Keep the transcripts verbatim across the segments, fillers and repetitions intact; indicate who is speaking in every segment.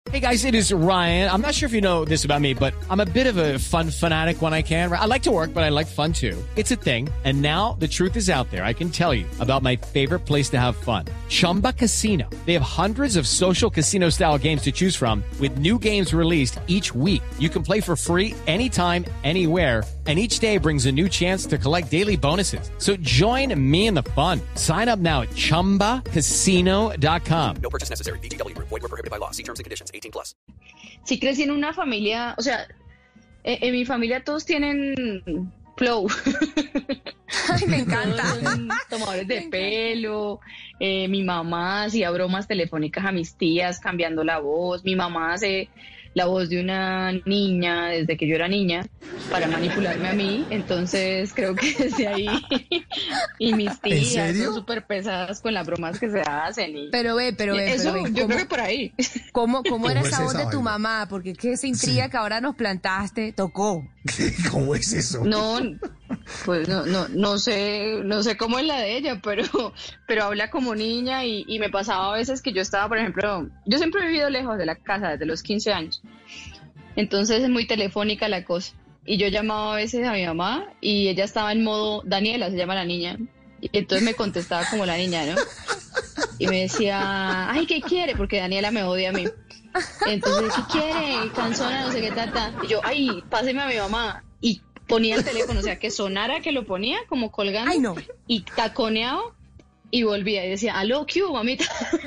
Speaker 1: Hey guys, it is Ryan. I'm not sure if you know this about me, but I'm a bit of a fun fanatic when I can. I like to work, but I like fun too. It's a thing. And now the truth is out there. I can tell you about my favorite place to have fun. Chumba Casino. They have hundreds of social casino style games to choose from with new games released each week. You can play for free anytime, anywhere. And each day brings a new chance to collect daily bonuses. So join me in the fun. Sign up now at chumba casino dot com.
Speaker 2: No purchase necessary. V G W Group. Void where prohibited by law. See terms and conditions. eighteen plus.
Speaker 3: Sí crecí en una familia, o sea, en, en mi familia todos tienen flow.
Speaker 4: Ay, me encanta.
Speaker 3: Todos son tomadores de pelo. Eh, mi mamá hacía bromas telefónicas a mis tías cambiando la voz. Mi mamá hace la voz de una niña desde que yo era niña para manipularme a mí. Entonces creo que desde ahí y mis tías son súper pesadas con las bromas que se hacen. Y
Speaker 4: pero ve, pero ve,
Speaker 3: eso,
Speaker 4: pero ve,
Speaker 3: yo
Speaker 4: ¿cómo,
Speaker 3: creo que por ahí.
Speaker 4: ¿Cómo, cómo era esa voz de tu
Speaker 5: vaina?
Speaker 4: mamá? Porque es que esa intriga
Speaker 5: Sí.
Speaker 4: que ahora nos plantaste tocó.
Speaker 5: ¿Cómo es eso?
Speaker 3: No, pues no, no, no sé, no sé cómo es la de ella, pero, pero habla como niña y, y me pasaba a veces que yo estaba, por ejemplo, yo siempre he vivido lejos de la casa desde los quince años, entonces es muy telefónica la cosa, y yo llamaba a veces a mi mamá y ella estaba en modo, Daniela se llama la niña, y entonces me contestaba como la niña, ¿no? Y me decía, ay, ¿qué quiere? Porque Daniela me odia a mí. Entonces, ¿qué quiere? Canzona, no sé qué tata. Y yo, ay, páseme a mi mamá. Y ponía el teléfono, o sea, que sonara que lo ponía como colgando.
Speaker 4: Ay, no.
Speaker 3: Y taconeaba y volvía y decía, aló, ¿qué hubo, mamita?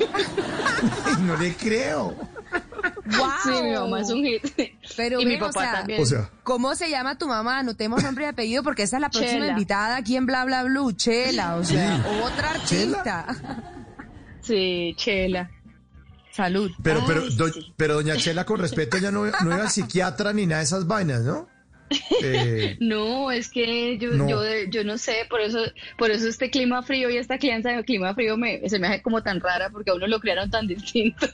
Speaker 5: Ay, no le creo.
Speaker 4: ¡Wow!
Speaker 3: Sí, mi mamá es un hit.
Speaker 4: Pero
Speaker 3: y
Speaker 4: ven,
Speaker 3: mi papá
Speaker 4: o sea,
Speaker 3: también.
Speaker 5: O sea,
Speaker 4: ¿cómo se llama tu mamá? Anotemos nombre y apellido porque esa es la próxima
Speaker 3: Chela.
Speaker 4: invitada aquí en Bla Bla Blue. Chela, o sea,
Speaker 5: Sí.
Speaker 4: otra artista.
Speaker 3: Sí, Chela.
Speaker 4: Salud.
Speaker 5: pero,
Speaker 3: Ay,
Speaker 5: pero, do-
Speaker 3: sí.
Speaker 5: pero doña Chela, con respeto, ya no, no iba al psiquiatra ni nada de esas vainas, ¿no? Eh,
Speaker 3: No, es que yo,
Speaker 5: No.
Speaker 3: yo, yo no sé, por eso, por eso este clima frío y esta crianza de clima frío me, se me hace como tan rara porque a uno lo criaron tan distinto.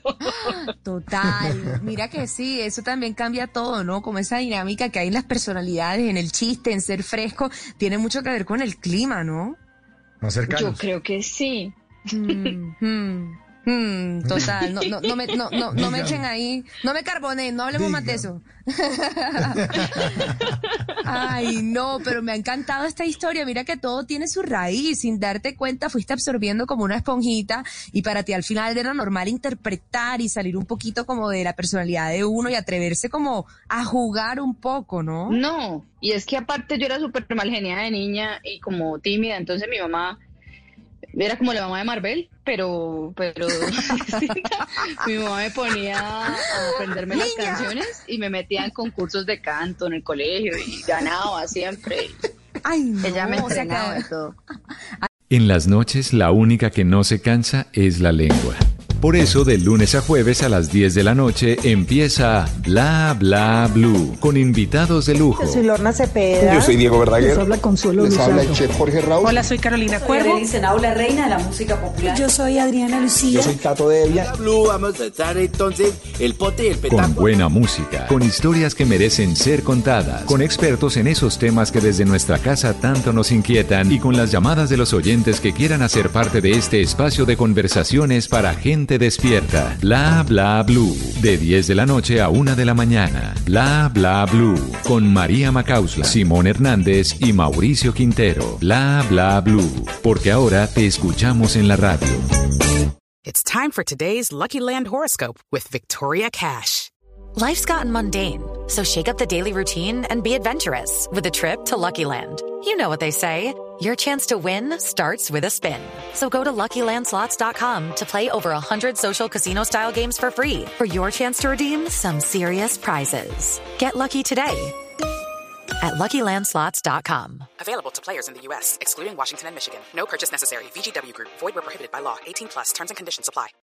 Speaker 4: Total. Mira que sí, eso también cambia todo, ¿no? Como esa dinámica que hay en las personalidades, en el chiste, en ser fresco, tiene mucho que ver con el clima, ¿no?
Speaker 5: más
Speaker 3: Yo
Speaker 5: cercanos.
Speaker 3: creo que sí.
Speaker 4: Mm, mm, mm, total, no, no, no me, no, no, no me
Speaker 5: Diga.
Speaker 4: echen ahí, no me carbonen, no hablemos más de
Speaker 5: Diga.
Speaker 4: eso. Ay, no, pero me ha encantado esta historia. Mira que todo tiene su raíz. Sin darte cuenta, fuiste absorbiendo como una esponjita y para ti al final era normal interpretar y salir un poquito como de la personalidad de uno y atreverse como a jugar un poco, ¿no?
Speaker 3: No, y es que aparte yo era súper mal geniada de niña y como tímida, entonces mi mamá era como la mamá de Marvel, pero, pero mi mamá me ponía a aprenderme las
Speaker 4: Niña.
Speaker 3: canciones y me metía en concursos de canto en el colegio y ganaba siempre.
Speaker 4: Ay, no,
Speaker 3: Ella me
Speaker 4: o sea
Speaker 3: entrenaba
Speaker 4: que-
Speaker 3: y todo.
Speaker 6: En las noches la única que no se cansa es la lengua. Por eso de lunes a jueves a las diez de la noche empieza Bla Bla Blue con invitados de lujo.
Speaker 7: Yo soy Lorna Cepeda.
Speaker 8: Yo soy Diego Verdaguer.
Speaker 7: Les habla Consuelo
Speaker 8: Les habla el
Speaker 7: Luzardo.
Speaker 8: chef Jorge Raúl.
Speaker 7: Hola, soy Carolina Cuervo.
Speaker 9: la reina de la música popular.
Speaker 7: Yo soy Adriana Lucía.
Speaker 8: Yo soy Tato Devia.
Speaker 10: Blue, vamos a estar entonces el pote y el
Speaker 6: Con
Speaker 10: petanco.
Speaker 6: buena música, con historias que merecen ser contadas, con expertos en esos temas que desde nuestra casa tanto nos inquietan y con las llamadas de los oyentes que quieran hacer parte de este espacio de conversaciones para gente despierta. Bla Bla Blue, de diez de la noche a una de la mañana. Bla Bla Blue, con María Macausla, Simón Hernández y Mauricio Quintero. Bla Bla Blue, porque ahora te escuchamos en la radio.
Speaker 9: It's time for today's Lucky Land horoscope with Victoria Cash.
Speaker 11: Life's gotten mundane, so shake up the daily routine and be adventurous with a trip to Lucky Land. You know what they say, your chance to win starts with a spin. So go to Lucky Land Slots dot com to play over one hundred social casino-style games for free for your chance to redeem some serious prizes. Get lucky today at Lucky Land Slots dot com.
Speaker 9: Available to players in the U S, excluding Washington and Michigan. No purchase necessary. V G W Group. Void where prohibited by law. eighteen plus. Terms and conditions apply.